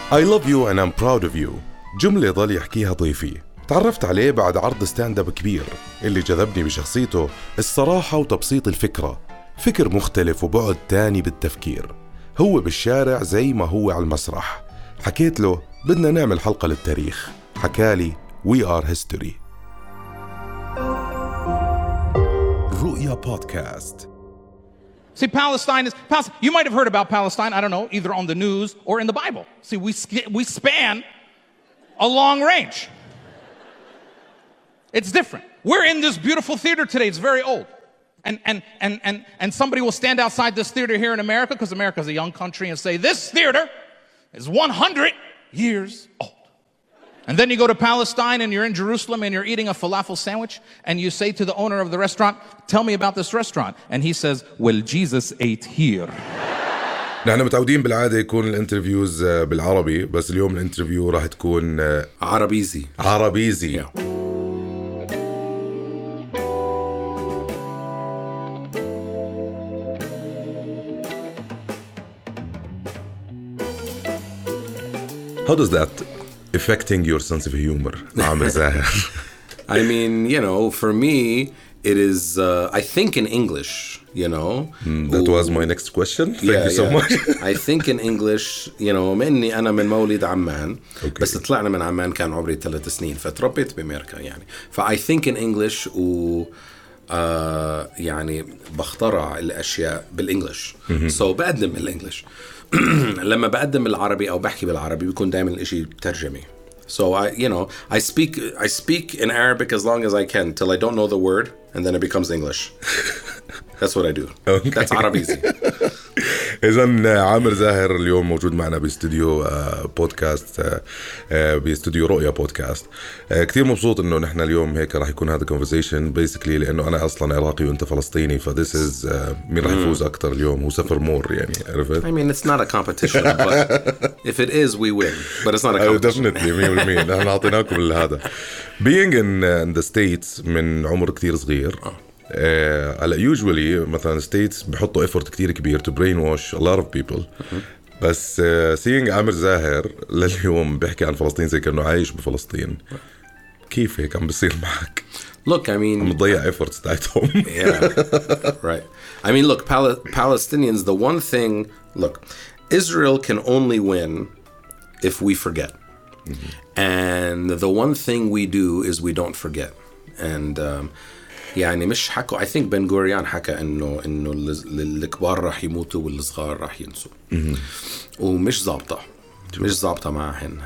I love you and I'm proud of you. جملة ضل يحكيها ضيفي. تعرفت عليه بعد عرض ستاند اب كبير. اللي جذبني بشخصيته الصراحة وتبسيط الفكرة. فكر مختلف وبعد تاني بالتفكير. هو بالشارع زي ما هو على المسرح. حكيت له بدنا نعمل حلقة للتاريخ. حكالي We are history. رؤيا بودكاست. See, Palestine. You might have heard about Palestine, I don't know, either on the news or in the Bible. See, we span a long range. It's different. We're in this beautiful theater today. It's very old. And somebody will stand outside this theater here in America, because America is a young country, and say, this theater is 100 years old. And then you go to Palestine and you're in Jerusalem and you're eating a falafel sandwich and you say to the owner of the restaurant, tell me about this restaurant. And he says, well, Jesus ate here. نحن متعودين بالعادة يكون الانترفيوز بالعربي، بس اليوم الانترفيو راح تكون عربيزي. Yeah. How does that affecting your sense of humor, Amer Zaher? I mean, for me, it is, I think in English, That was my next question. Thank you so much. I think in English, مني أنا من مولد عمان. Okay. بس طلعنا من عمان كان عمري 3 سنين فتربيت بأمريكا يعني. I think in English يعني بخترع الأشياء بالإنجليش. So بقدم بالإنجليش. لما بقدم بالعربي أو بحكي بالعربي بيكون دائما الإشي ترجمي. So I speak in Arabic as long as I can till I don't know the word, and then it becomes English. That's what I do. Okay. That's عربيزي. إذن عامر زاهر اليوم موجود معنا باستوديو بودكاست، باستوديو رؤيا بودكاست. كتير مبسوط إنه نحن اليوم هيك راح يكون هذا conversation basically لأنه أنا أصلاً عراقي وأنت فلسطيني، فthis is مين راح يفوز أكتر اليوم. هو سفر مور يعني، عرفت؟ I mean, it's not a competition, but if it is, we win. But it's not a competition. Definitely 100%. نحن أعطيناكم هذا. Being in the States من عمر كتير صغير. هلا usually مثلا states بحطوا effort كتير كبير to brainwash a lot of people. بس seeing عامر زاهر لليوم بيحكي عن فلسطين زي كأنه عايش بفلسطين. كيف هيك عم بيصير معك؟ Look, I mean, عم تضيع efforts تاعتهم. Yeah, right. I mean, look, Palestinians, the one thing, look, Israel can only win if we forget. And the one thing we do is we don't forget. And يعني مش حكوا. I think Ben Gurion حكى إنه الكبار راح يموتوا والصغار راح ينسوا. ومش ضابطة. مش ضابطة معهن.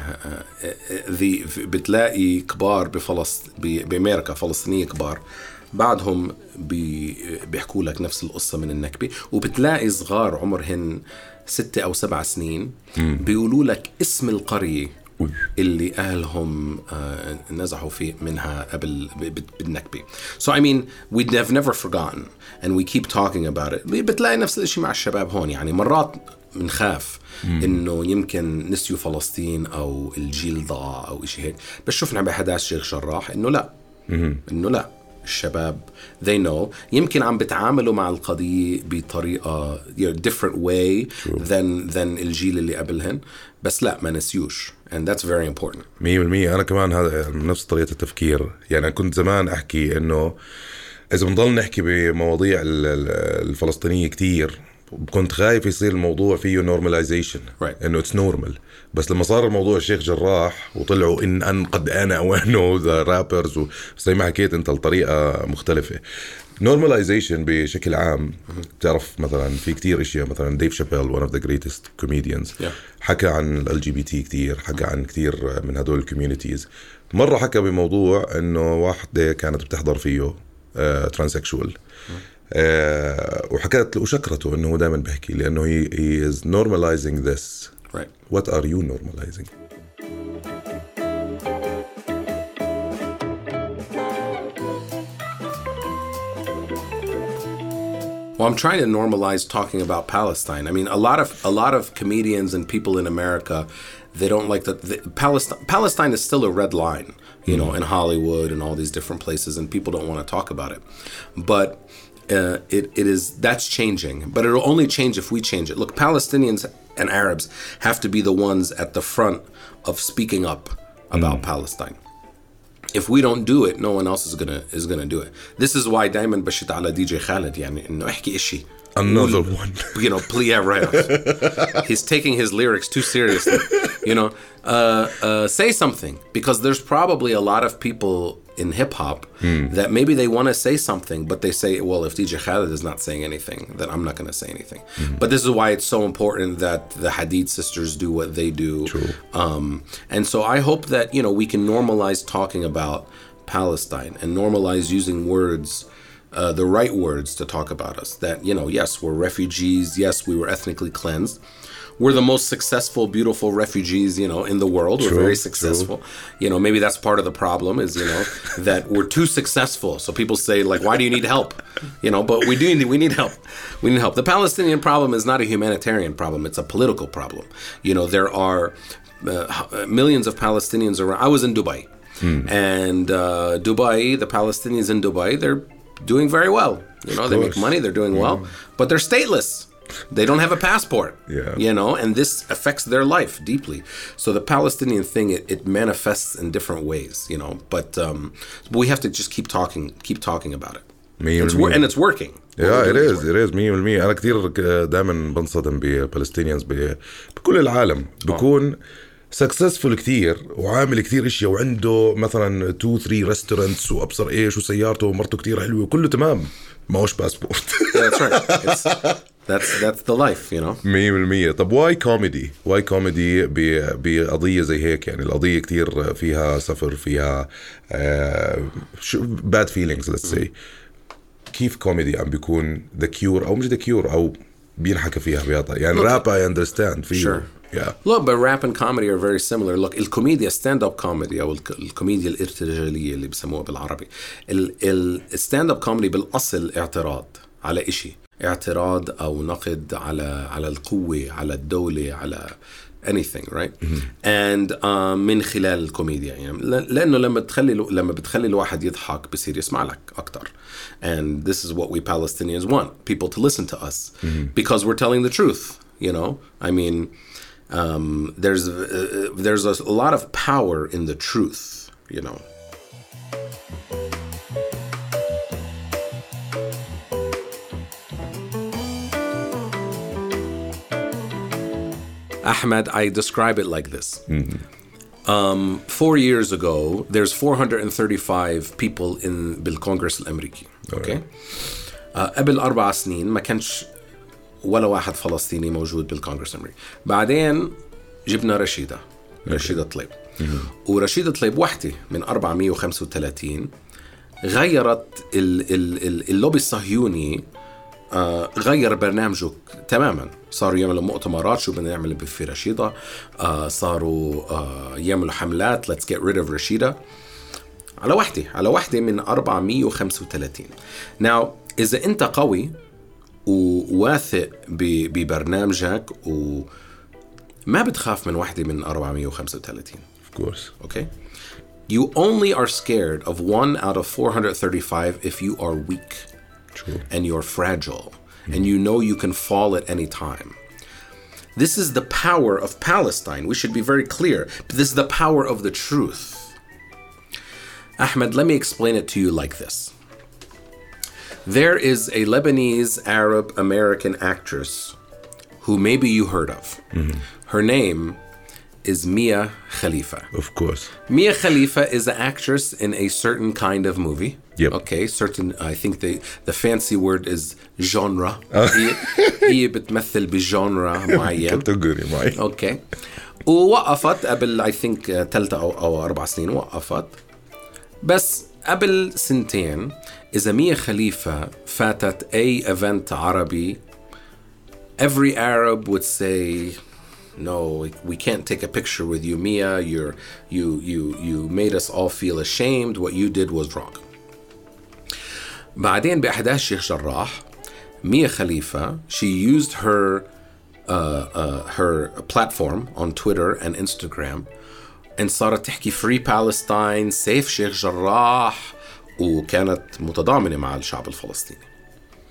بتلاقي كبار بأمريكا فلسطينية كبار بعدهم بيحكوا لك نفس القصة من النكبة، وبتلاقي صغار عمرهن 6 أو 7 سنين بيقولوا لك اسم القرية اللي أهلهم نزحوا فيه منها قبل بالنكبة. So I mean, we have never forgotten and we keep talking about it. بتلاقي نفس الشيء مع الشباب هون. يعني مرات منخاف إنه يمكن نسيوا فلسطين أو الجيل ضاع أو إشي هيك، بس شفنا بحداث شيخ جراح إنه لا الشباب they know يمكن عم بتعاملوا مع القضية بطريقة different way than الجيل اللي قبلهن، بس لا ما نسيوش. and that's very important. 100%. أنا كمان هذا نفس طريقة التفكير. يعني كنت زمان أحكي إنه إذا بنضل نحكي بمواضيع الفلسطينية كتير كنت خايف يصير الموضوع فيه normalization. إنه it's normal. بس لما صار الموضوع الشيخ جراح وطلعوا إن قد أنا وأنه ذا رابرز زي ما حكيت أنت الطريقة مختلفة. normalization بشكل عام تعرف مثلا في كتير اشياء، مثلا ديف شابيل one of the greatest comedians حكى عن LGBT كتير، حكى عن كتير من هدول الكوميونيتيز. مرة حكى بموضوع انه واحدة كانت بتحضر فيه ترانسكشوال وحكت وشكرته انه دائما بحكي لانه he is normalizing this. What are you normalizing? Well, I'm trying to normalize talking about Palestine. I mean, a lot of comedians and people in America, they don't like that. Palestine is still a red line, you know, in Hollywood and all these different places, and people don't want to talk about it. But that's changing, but it'll only change if we change it. Look, Palestinians and Arabs have to be the ones at the front of speaking up about Palestine. If we don't do it, no one else is gonna do it. This is why دايما بشت على DJ Khaled يعني إنه احكي إشي. Another one. You know, please, yeah, right. He's taking his lyrics too seriously. You know, say something, because there's probably a lot of people in hip hop that maybe they want to say something, but they say, well, if DJ Khaled is not saying anything, then I'm not going to say anything. But this is why it's so important that the Hadid sisters do what they do. True. And so I hope that, you know, we can normalize talking about Palestine and normalize using words, the right words to talk about us. That, you know, yes, we're refugees. Yes, we were ethnically cleansed. We're the most successful, beautiful refugees, you know, in the world. We're very successful. You know, maybe that's part of the problem is, you know, that we're too successful. So people say, like, why do you need help? You know, but we need help. We need help. The Palestinian problem is not a humanitarian problem. It's a political problem. You know, there are millions of Palestinians around. I was in Dubai. And Dubai, the Palestinians in Dubai, they're doing very well. You know, they make money. They're doing well. But they're stateless. They don't have a passport, you know, and this affects their life deeply. So the Palestinian thing, it manifests in different ways, you know, but we have to just keep talking about it. And it's working. Yeah, it is 100%. أنا كتير دائما بنصدم بفلسطينيانز بكل العالم بكون سكسسفول كتير وعامل كتير اشياء وعنده مثلا 2-3 ريستورانتس وابصر ايش وسيارته ومرته كتير حلوه وكله تمام معوش باسبورت. That's right. That's the life, you know. 100%. طب واي كوميدي بقضية زي هيك؟ يعني القضية كتير فيها سفر، فيها bad feelings let's say. كيف كوميدي عم بيكون the cure أو مش the cure أو بينحكى فيها بيضا يعني rap I understand فيه. Sure. Yeah. Look, but rap and comedy are very similar. Look, الكوميديا stand-up comedy أو الكوميديا الارتجالية اللي بسموها بالعربي. stand-up comedy بالأصل اعتراض على إشي، اعتراض أو نقد على القوة، على الدولة، على anything, right? And من خلال الكوميديا يعني لأنه لما بتخلي الواحد يضحك بصير يسمع لك أكتر. And this is what we Palestinians want, people to listen to us because we're telling the truth, you know? I mean, there's a lot of power in the truth, you know. Ahmed, I describe it like this. 4 years ago, there's 435 people in بالكونغرس الأمريكي. Okay. قبل 4 سنين ما كانش ولا واحد فلسطيني موجود بالكونغرس الأمريكي. بعدين جبنا رشيدة طليب. ورشيدة طليب وحدة من 435 غيرت اللوبي الصهيوني، غير برنامجه تماما. صاروا يعملوا مؤتمرات شو بدنا نعمل في رشيدة، صاروا يعمللوا حملات let's get rid of رشيدة على وحدة من 435. Now إذا أنت قوي وواثق ببرنامجك وما بتخاف من وحدة من 435. Of course. Okay. You only are scared of 1 out of 435 if you are weak. True. And you're fragile. And you know you can fall at any time. This is the power of Palestine. We should be very clear. This is the power of the truth. Ahmed, let me explain it to you like this. There is a Lebanese Arab American actress who maybe you heard of. Her name is Mia Khalifa. Of course. Mia Khalifa is an actress in a certain kind of movie. Yep. Okay, certain, I think the fancy word is genre. هي بتمثل بجانرا معين. Category معين. Okay. ووقفت قبل I think 3 أو 4 سنين وقفت. بس قبل 2 سنين إذا ميا خليفة فاتت أي event عربي, every Arab would say, no, we can't take a picture with you, Mia. You made us all feel ashamed. What you did was wrong. بعدين بأحداث شيخ جراح, Mia Khalifa, she used her platform on Twitter and Instagram and صارت تحكي free Palestine, safe شيخ جراح, وكانت متضامنة مع الشعب الفلسطيني.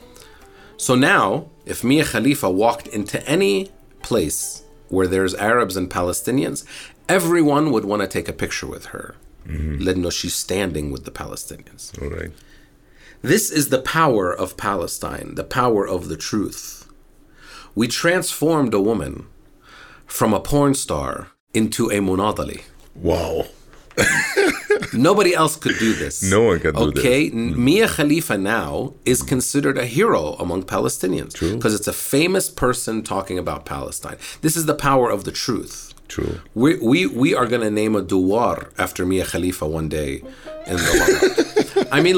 So now, if Mia Khalifa walked into any place where there's Arabs and Palestinians, everyone would want to take a picture with her. لأنه she's standing with the Palestinians. All right. This is the power of Palestine, the power of the truth. We transformed a woman from a porn star into a munadali. Wow. Nobody else could do this. No one can do this. Okay, Mia Khalifa now is considered a hero among Palestinians. True. Because it's a famous person talking about Palestine. This is the power of the truth. True. We are going to name a duwar after Mia Khalifa one day in the I mean,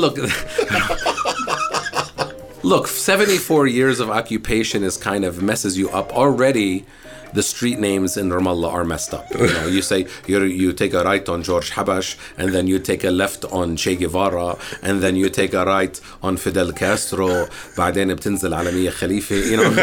look, 74 years of occupation is kind of messes you up already. The street names in Ramallah are messed up. You know, you say you take a right on George Habash, and then you take a left on Che Guevara, and then you take a right on Fidel Castro. بعدين بتنزل على مية خليفة. You know,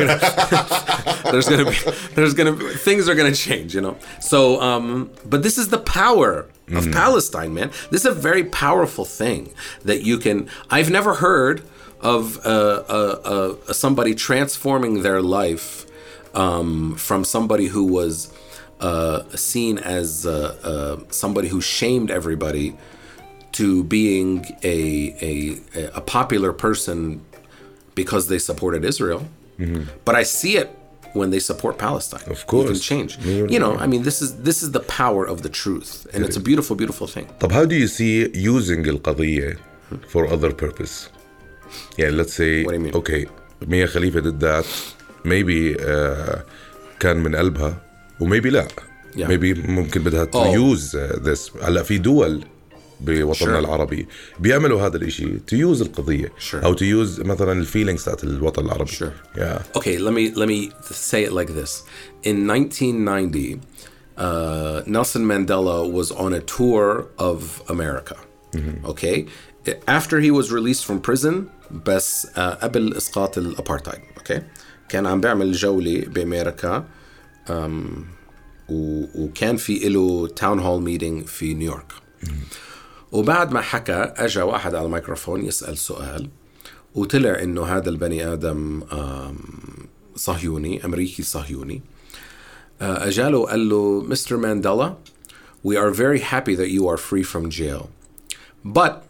there's gonna be things are gonna change. You know, so but this is the power of Palestine, man. This is a very powerful thing that you can. I've never heard of somebody transforming their life. From somebody who was seen as somebody who shamed everybody to being a popular person because they supported Israel. But I see it when they support Palestine. Of course. You can change. You know, I mean, this is the power of the truth. And it's a beautiful, beautiful thing. طب how do you see using القضية for other purpose? Yeah, let's say, What do you mean? okay, Mia Khalifa did that. Maybe كان من قلبها وmaybe لا. Yeah. Maybe ممكن بدها to use this. هلا في دول بوطننا العربي بيعملوا هذا الاشي to use القضية أو to use مثلا الفيلينغز تاعت الوطن العربي. Yeah. Okay, let me say it like this. In 1990, Nelson Mandela was on a tour of America. Okay? After he was released from prison, بس قبل إسقاط الأبارتايد. Okay? كان عم بيعمل جولة بأمريكا وكان في له تاون هول ميتينج في نيويورك. وبعد ما حكى أجا واحد على الميكروفون يسأل سؤال وطلع إنه هذا البني آدم صهيوني أمريكي صهيوني. أجاله وقال له Mr. Mandela, we are very happy that you are free from jail. But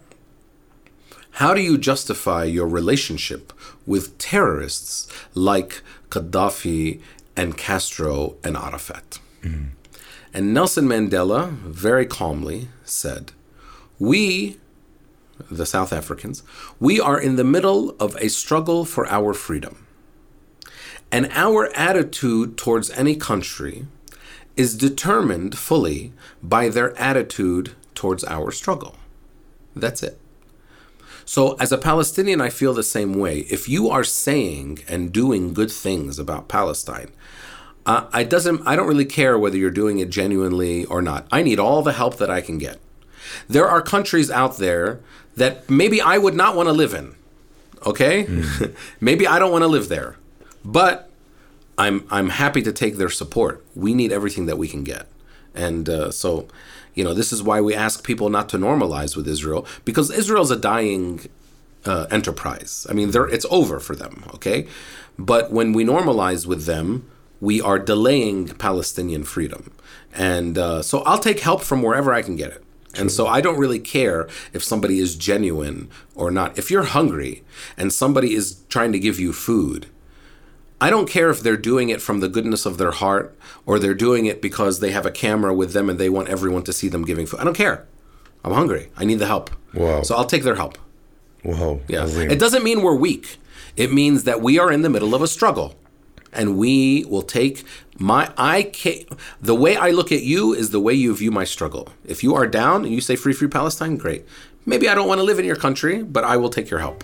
how do you justify your relationship with terrorists like Gaddafi and Castro and Arafat? And Nelson Mandela very calmly said, we, the South Africans, we are in the middle of a struggle for our freedom. And our attitude towards any country is determined fully by their attitude towards our struggle. That's it. So as a Palestinian, I feel the same way. If you are saying and doing good things about Palestine, I don't really care whether you're doing it genuinely or not. I need all the help that I can get. There are countries out there that maybe I would not want to live in. Okay? Maybe I don't want to live there. But I'm happy to take their support. We need everything that we can get. And so, you know, this is why we ask people not to normalize with Israel, because Israel's a dying enterprise. I mean, it's over for them, okay? But when we normalize with them, we are delaying Palestinian freedom. And so I'll take help from wherever I can get it. True. And so I don't really care if somebody is genuine or not. If you're hungry and somebody is trying to give you food, I don't care if they're doing it from the goodness of their heart or they're doing it because they have a camera with them and they want everyone to see them giving food. I don't care. I'm hungry. I need the help. Wow. So I'll take their help. Wow. Yeah. It doesn't mean we're weak. It means that we are in the middle of a struggle. And we will take the way I look at you is the way you view my struggle. If you are down and you say free Palestine, great. Maybe I don't want to live in your country, but I will take your help.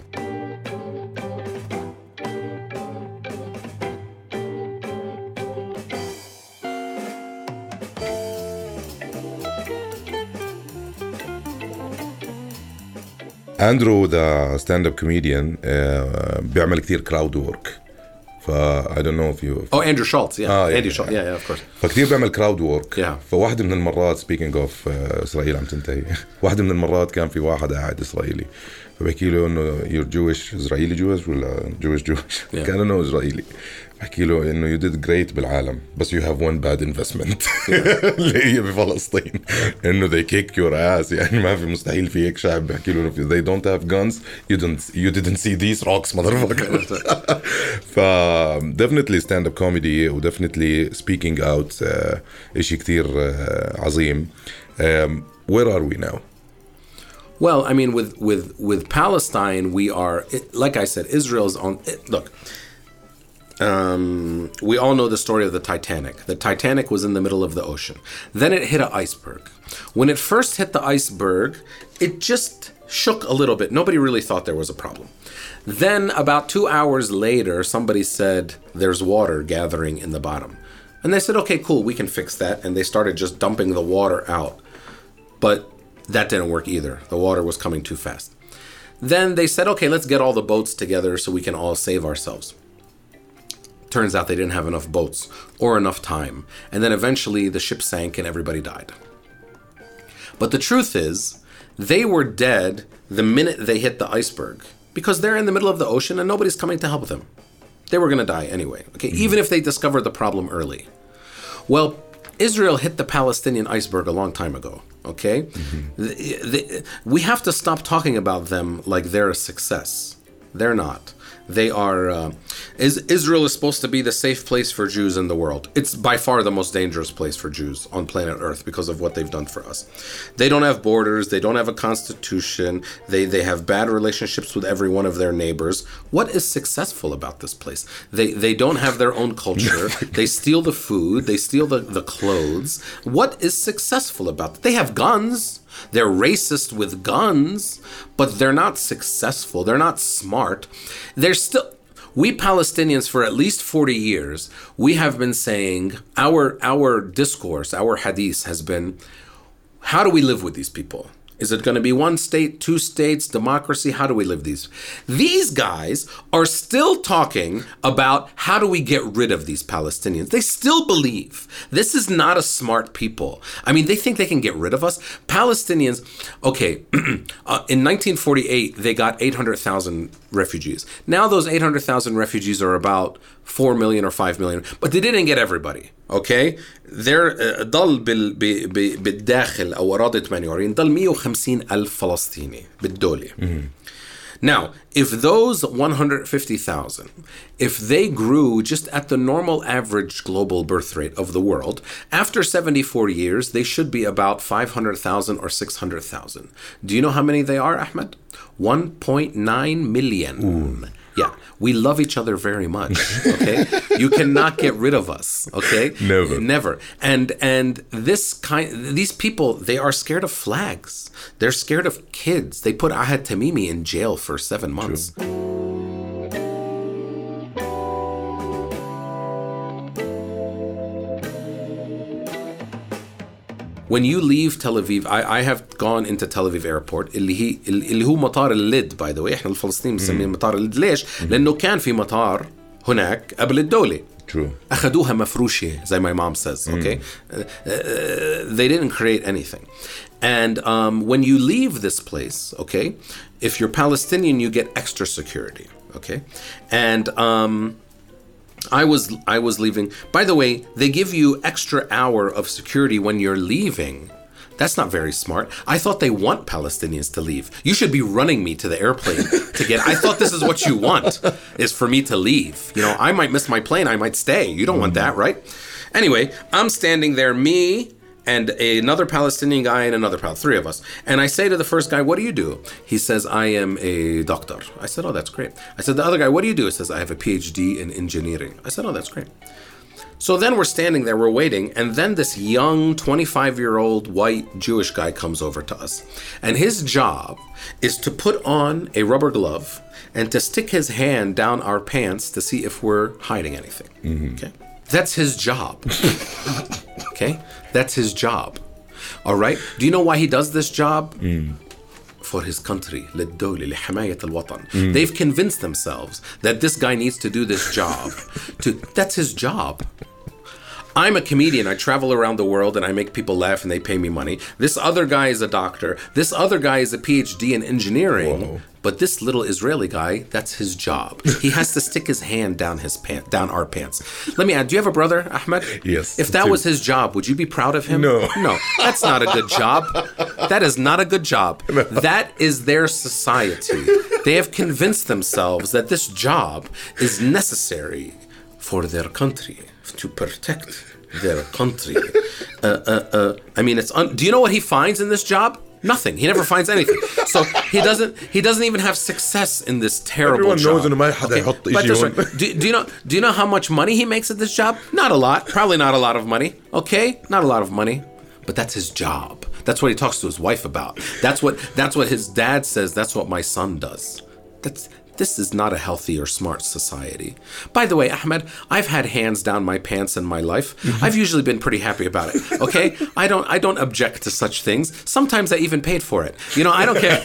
أندرو ده ستاند اب كوميديان بيعمل كتير كراود وورك I don't know if you. Oh, Andrew Schultz. Yeah. yeah, Andy Schultz. Yeah, of course. فكتير بيعمل كراود وورك. Yeah. فواحدة من المرات speaking of إسرائيل عم تنتهي. واحدة من المرات كان في واحد قاعد إسرائيلي فبحكي له إنه you're Jewish إسرائيلي Jewish ولا Jewish Yeah. كان إنه إسرائيلي. بحكي له إنه you did great بالعالم بس you have one bad investment اللي هي بفلسطين إنه they kick your ass يعني ما في مستحيل في هيك شعب. بحكي له if they don't have guns you didn't see these rocks motherfucker. ف definitely stand up comedy و definitely speaking out إشي كتير عظيم. Where are we now? Well, I mean, with Palestine, we are, like I said, Israel's on. Look, we all know the story of the Titanic. The Titanic was in the middle of the ocean. Then it hit an iceberg. When it first hit the iceberg, it just shook a little bit. Nobody really thought there was a problem. Then about 2 hours later, somebody said there's water gathering in the bottom. And they said, okay, cool, we can fix that. And they started just dumping the water out. But that didn't work either. The water was coming too fast. Then they said, okay, let's get all the boats together so we can all save ourselves. Turns out they didn't have enough boats or enough time. And then eventually the ship sank and everybody died. But the truth is, they were dead the minute they hit the iceberg because they're in the middle of the ocean and nobody's coming to help them. They were going to die anyway, okay? Even if they discovered the problem early. Well, Israel hit the Palestinian iceberg a long time ago, okay? We have to stop talking about them like they're a success. They're not. They are. Israel is supposed to be the safe place for Jews in the world. It's by far the most dangerous place for Jews on planet Earth because of what they've done for us. They don't have borders. They don't have a constitution. They have bad relationships with every one of their neighbors. What is successful about this place? They don't have their own culture. They steal the food. They steal the clothes. What is successful about it? They have guns. They're racist with guns, but they're not successful. They're not smart. They're still. We Palestinians, for at least 40 years, we have been saying our discourse, our hadith has been, how do we live with these people? Is it going to be one state, two states, democracy? How do we live these? These guys are still talking about how do we get rid of these Palestinians. They still believe this is not a smart people. I mean, they think they can get rid of us. Palestinians, okay, in 1948, they got 800,000 refugees. Now those 800,000 refugees are about 4 million or 5 million, but they didn't get everybody. Okay, they're ضل بالداخل أو أراضي 48 ضل 150,000 فلسطيني بالدولة. Now, if those 150,000, if they grew just at the normal average global birth rate of the world, after 74 years, they should be about 500,000 or 600,000. Do you know how many they are, Ahmed? 1.9 million. Ooh. Yeah, we love each other very much, okay? You cannot get rid of us, okay? Never. And these people, they are scared of flags. They're scared of kids. They put Ahad Tamimi in jail for 7 months. True. When you leave Tel Aviv, I have gone into Tel Aviv airport اللي هو مطار اللد by the way. احنا الفلسطينيين بنسميه مطار اللد. ليش؟ لأنه كان في مطار هناك قبل الدولة. True. أخذوها مفروشة زي my mom says, okay? They didn't create anything. And when you leave this place, okay, if you're Palestinian, you get extra security, okay? And I was leaving. By the way, they give you extra hour of security when you're leaving. That's not very smart. I thought they want Palestinians to leave. You should be running me to the airplane to get. I thought this is what you want, is for me to leave. You know, I might miss my plane. I might stay. You don't want that, right? Anyway, I'm standing there, me and another Palestinian guy and another three of us. And I say to the first guy, what do you do? He says, I am a doctor. I said, oh, that's great. I said, the other guy, what do you do? He says, I have a PhD in engineering. I said, oh, that's great. So then we're standing there, we're waiting, and then this young 25-year-old white Jewish guy comes over to us. And his job is to put on a rubber glove and to stick his hand down our pants to see if we're hiding anything. Okay? That's his job. Okay? That's his job. All right? Do you know why he does this job? for his country, للدولة, لحماية الوطن. They've convinced themselves that this guy needs to do this job. That's his job. I'm a comedian. I travel around the world and I make people laugh and they pay me money. This other guy is a doctor. This other guy is a PhD in engineering. Whoa. But this little Israeli guy, that's his job. He has to stick his hand down our pants. Let me add, do you have a brother, Ahmed? Yes. If that was his job, would you be proud of him? No. No, that's not a good job. That is not a good job. No. That is their society. They have convinced themselves that this job is necessary for their country, to protect their country. I mean, do you know what he finds in this job? Nothing. He never finds anything. So he doesn't even have success in this terrible Everyone job. knows إنه ما حدا يحط إشي هون. Do you know how much money he makes at this job? Not a lot. Probably not a lot of money. Okay? Not a lot of money. But that's his job. That's what he talks to his wife about. That's what his dad says. That's what my son does. This is not a healthy or smart society. By the way, Ahmed, I've had hands down my pants in my life. I've usually been pretty happy about it. Okay? I don't object to such things. Sometimes I even paid for it. You know, I don't care.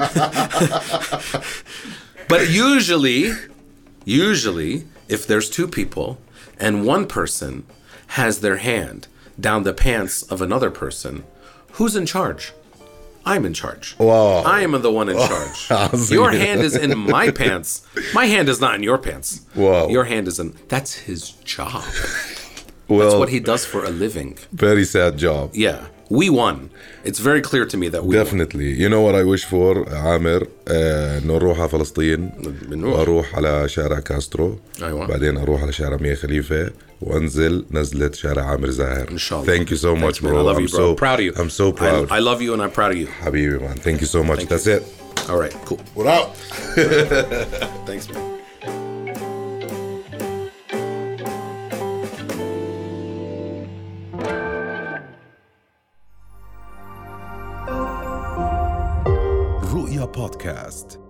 But usually, if there's two people and one person has their hand down the pants of another person, who's in charge? I'm in charge. Wow. I am the one in charge. Your hand is in my pants. My hand is not in your pants. Wow. Your hand is in... That's his job. Well, that's what he does for a living. Very sad job. Yeah. We won. It's very clear to me that we Definitely. Won. You know what I wish for, عامر? إنه نروح على فلسطين وأروح على شارع كاسترو. أيوة. بعدين أروح على شارع مية خليفة وأنزل نزلة شارع عامر زاهر. إن شاء الله. Thank you so much, bro. I love you, bro. Proud of you. I'm so proud. I love you and I'm proud of you. حبيبي, man. Thank you so much. That's it. All right. Cool. We're out. Thanks, man. رؤيا بودكاست.